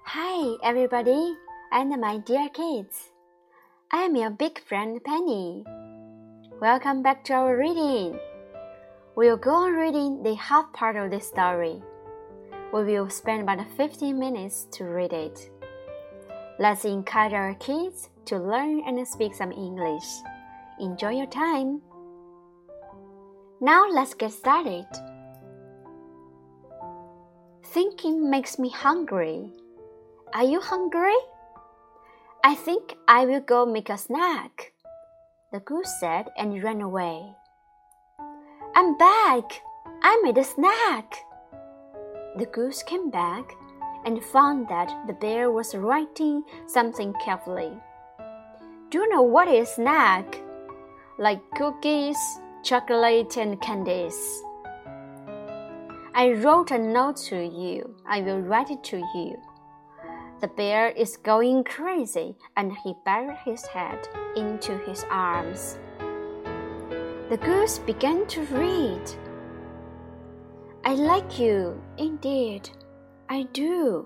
Hi everybody and my dear kids. I am your big friend Penny. Welcome back to our reading. We'll go on reading the half part of this story. We will spend about 15 minutes to read it. Let's encourage our kids to learn and speak some English. Enjoy your time. Now let's get started. Thinking makes me hungry. Are you hungry? I think I will go make a snack, the goose said and ran away. I'm back! I made a snack! The goose came back and found that the bear was writing something carefully. Do you know what is snack? Like cookies, chocolate, and candies. I wrote a note to you. I will write it to you. The bear is going crazy, and he buried his head into his arms. The goose began to read. I like you, indeed, I do.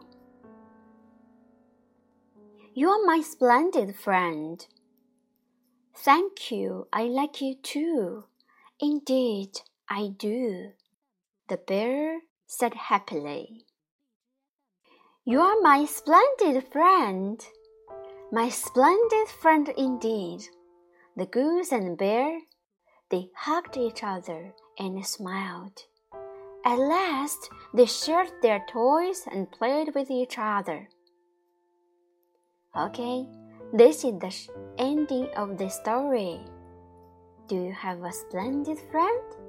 You are my splendid friend. Thank you, I like you too. Indeed, I do, the bear said happily. You are my splendid friend. My splendid friend indeed. The goose and bear, they hugged each other and smiled. At last, they shared their toys and played with each other. Okay, this is the ending of the story. Do you have a splendid friend?